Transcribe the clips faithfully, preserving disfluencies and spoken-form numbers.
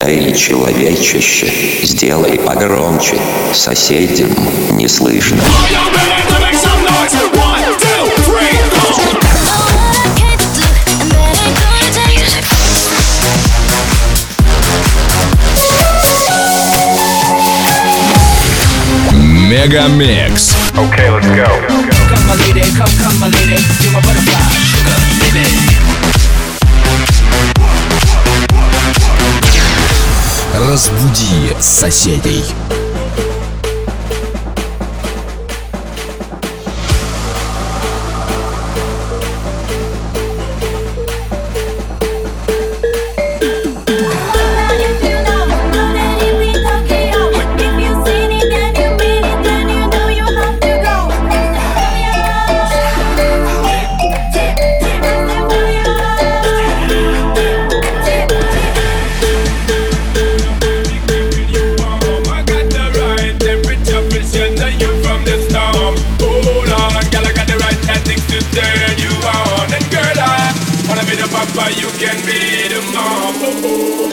Эй, человечище, сделай погромче, соседям не слышно. Мегамикс. Okay, let's go. Come my lady, come, come my lady, you're my butterfly, sugar, baby. Разбуди соседей. You can be the mom.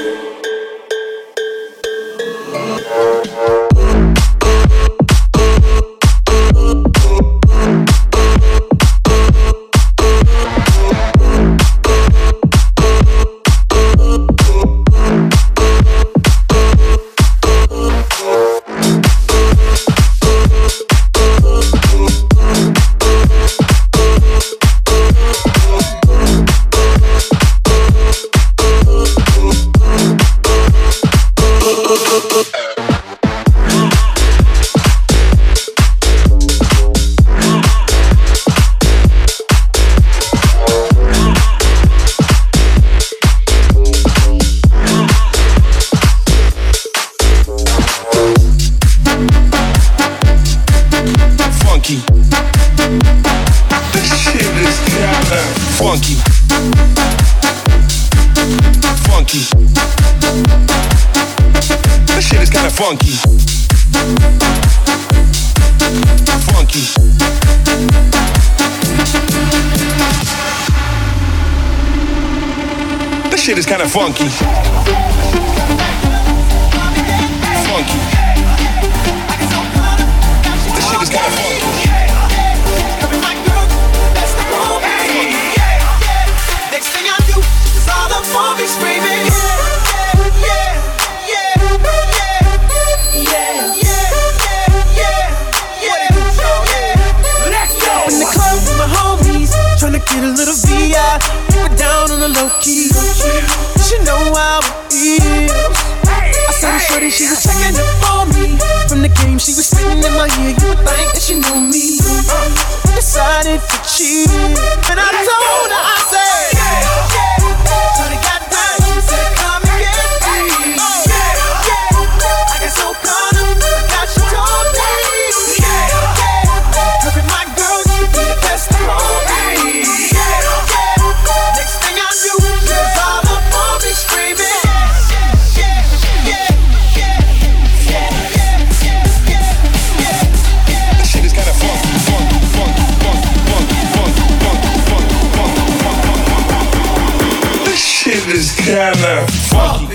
Funky. Funky. This shit is kinda funky. Funky. This shit is kinda funky. Funky. This shit is kinda funky. Screaming, yeah, yeah, yeah, yeah, yeah, yeah, yeah, yeah. Let's go. In the club with my homies, tryna get a little V I, keep it down on the low key. She know how it is. I saw the shorty, she was checking up on me. From the game, she was spitting in my ear. You would think that she knew me. Decided to cheat, and I told her, I said, yeah, yeah. Shorty got down, she said, come and get me. Yeah, yeah. I got so caught up, forgot she told me. Yeah, yeah. Look at my girl, she be the best around me. Yeah, yeah. Next thing I knew, she was all up on me screaming. Yeah, yeah, yeah, yeah, yeah, yeah, yeah. This shit is kinda funky, funky, funky, funky, funky, funky, funky, funky, funky. This shit is kinda funky.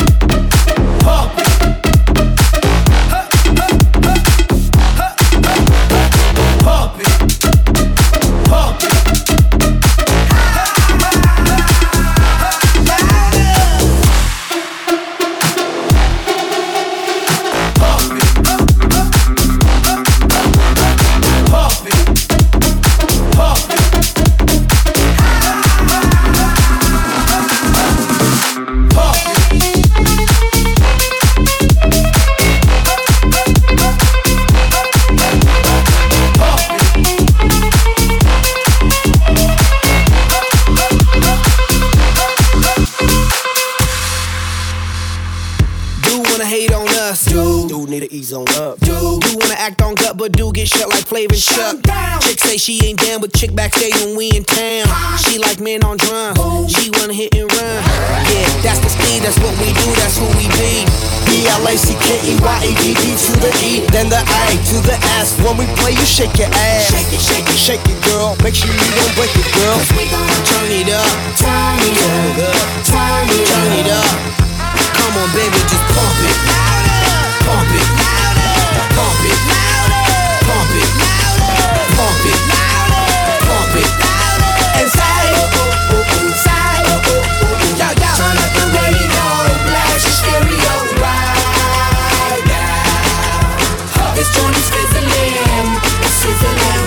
Chick say she ain't down, but chick backstage when we in town. She like men on drums, she wanna hit and run. Yeah, that's the speed, that's what we do, that's who we be. B L A C K E Y A D D to the E, then the A to the S. When we play, you shake your ass. Shake it, shake it, shake it, girl. Make sure you don't break it, girl. We gonna turn it up, turn it up, turn it up. Come on, baby, just pump it. Pump it. Pump it. Pump it. Pump it. Pump it. And say, say, yo, yo. Turn up the radio, blast your stereo right now. This joint is sizzling, it's sizzling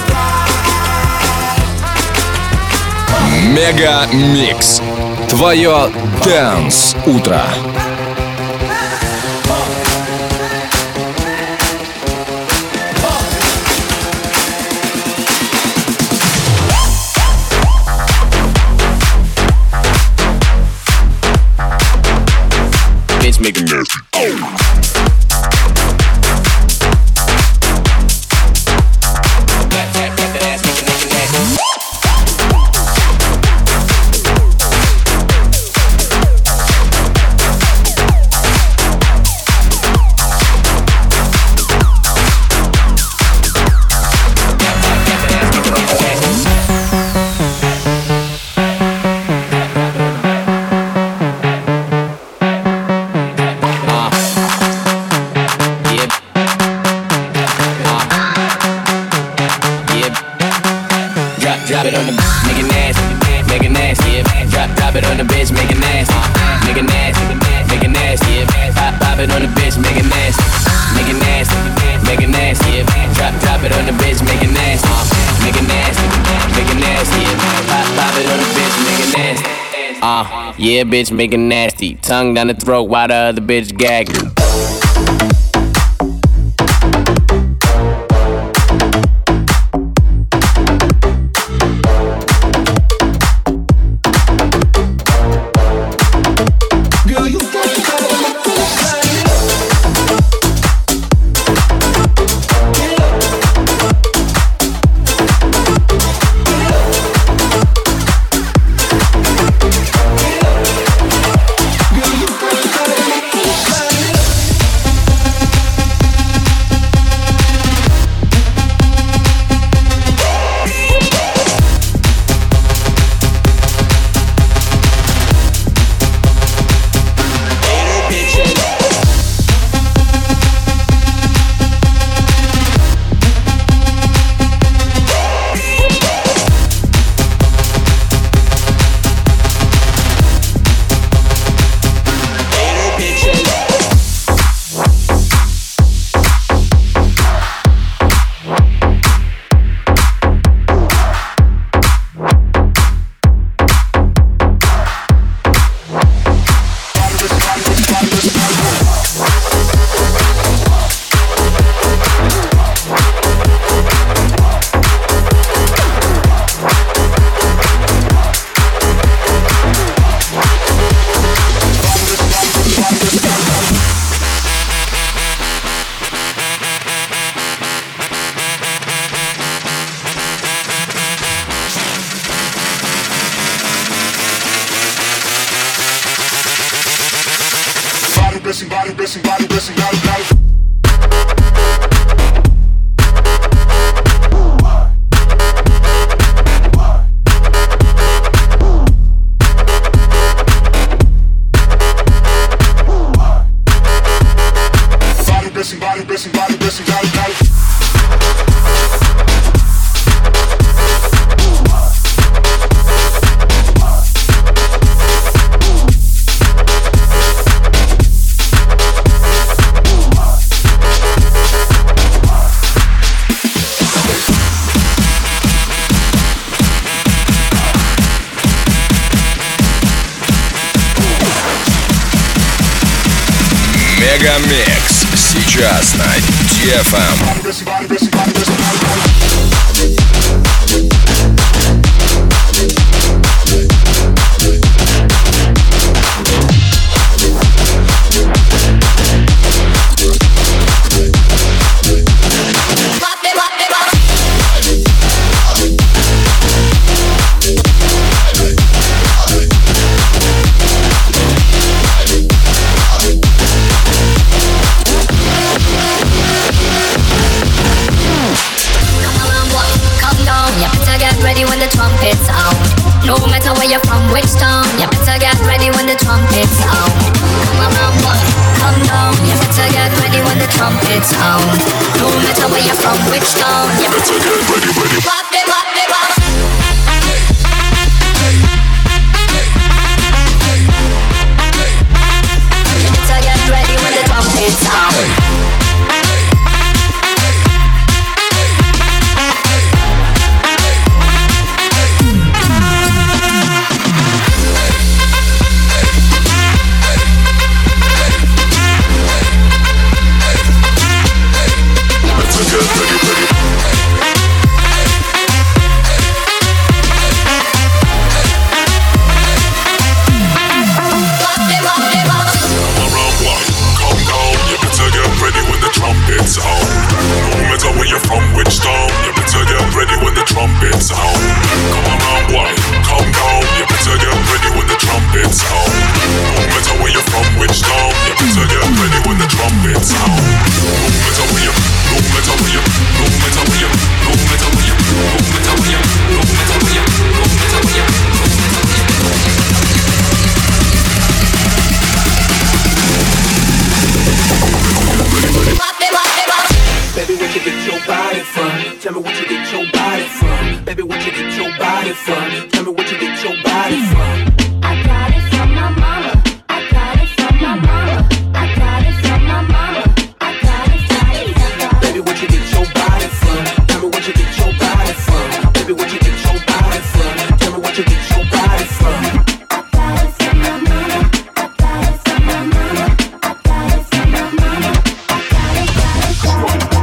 right. Мега Микс. Твое Dance утро. Bitch making nasty. Oh. Drop it on the make it nasty, make it nasty, yeah. Drop, drop it on the bitch, make it nasty, make it nasty, make it nasty, yeah. Pop, pop it on the bitch, make it nasty, make it nasty, make it nasty, yeah. Drop, drop it on the bitch, make it nasty, make it nasty, make it nasty, yeah. Pop, pop it on the bitch, make it nasty. Uh, yeah, bitch, make it nasty. Tongue down the throat while the other bitch gagging. Blessing, body, blessing, body, blessing, body, body. Body, blessing, body, blessing, body, blessing, body, body. Мегамикс сейчас на ди эф эм. body from? Tell me where you get your body from. I got it from my mama. I got it from my mama. I got it from my mama. I got it, got it, got it. Baby, where you get your body from? Tell me where you get your body from. Baby, where you get your body from? Tell me where you get your body from. I got it from my mama. I got it from my mama. I got it from my mama. I got it, got it, got it.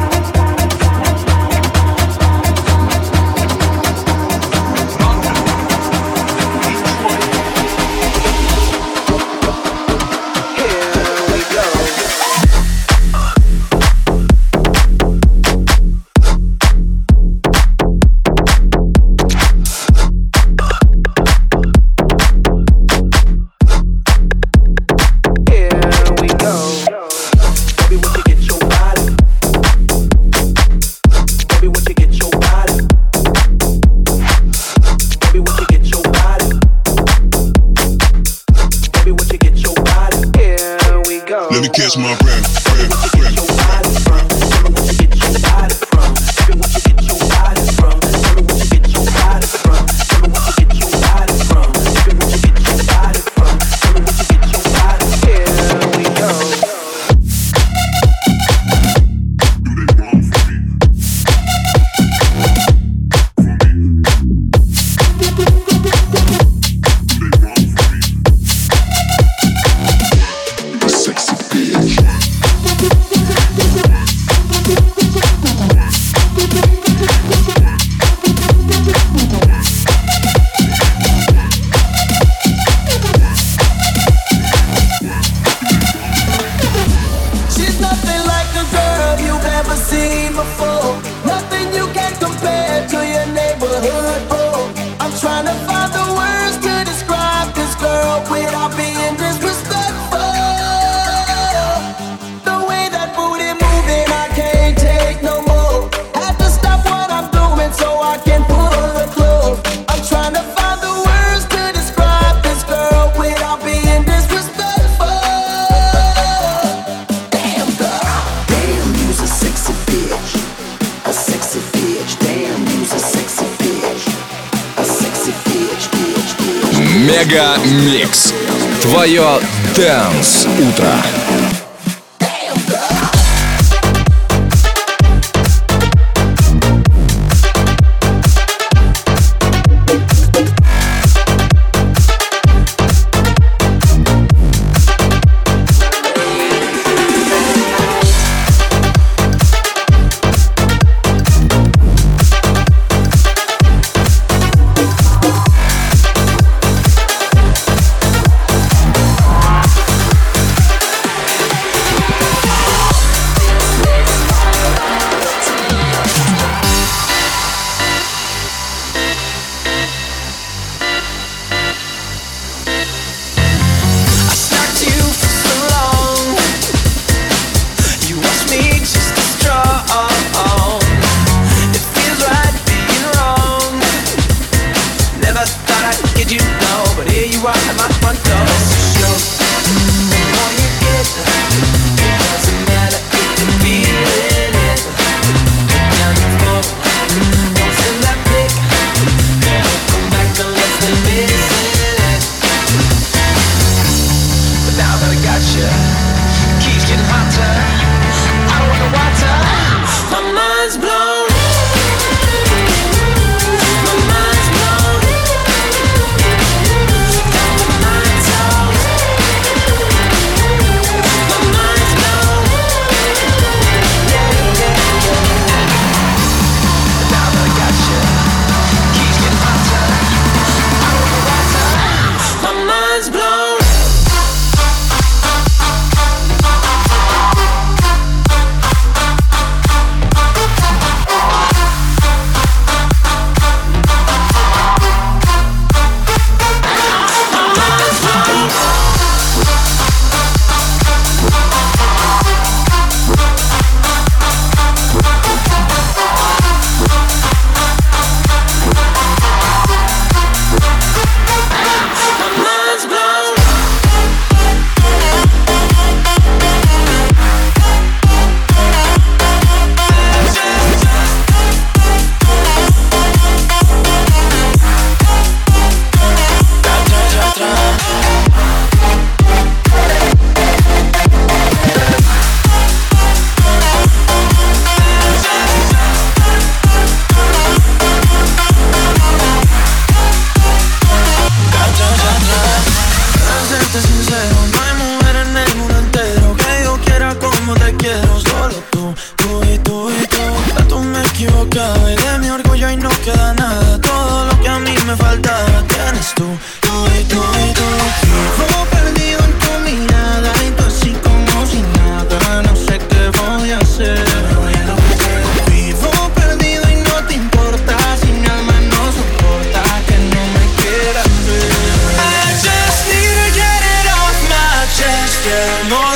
Let me catch my breath, breath, breath. Мега Микс. Твое Dance утро.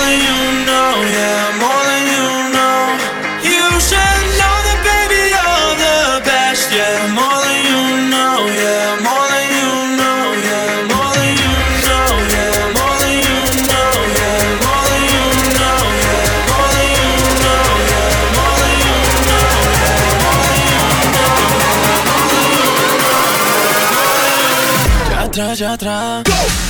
than you know, yeah, more than you know. You should know that, baby, you're the best, yeah, more than you know, yeah, more than you know, yeah, more than you know, yeah, more than you know, yeah, more than you know, yeah, more than you know, yeah, more than you know, yeah, more than you know, yeah, more than you know. Já atrás, já atrás.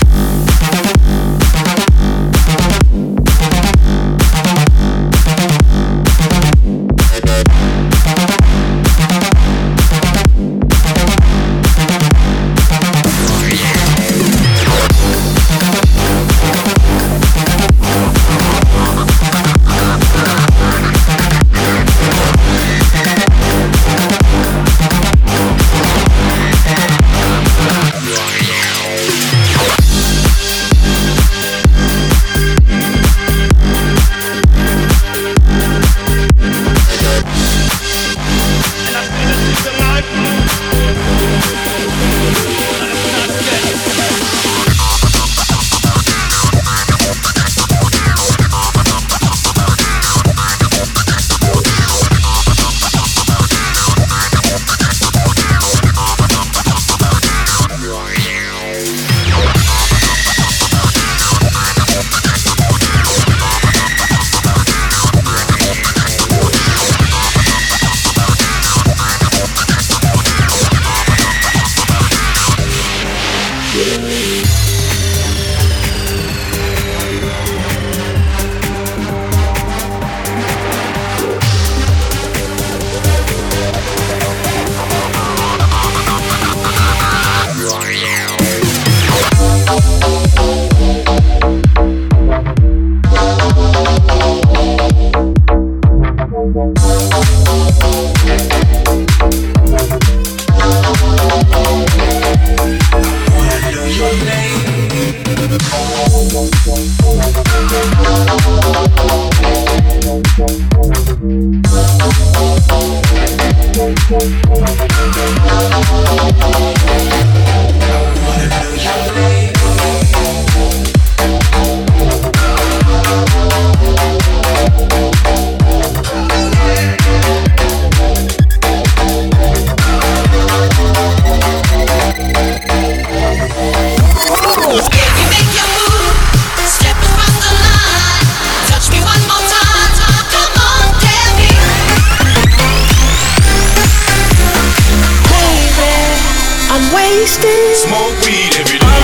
Smoke weed every day.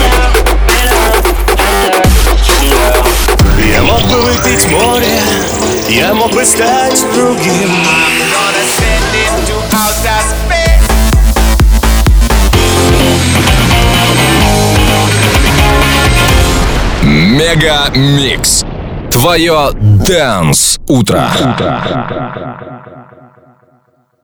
Я мог бы выпить море, я мог бы стать другим. Мега Микс. Твое Dance утро.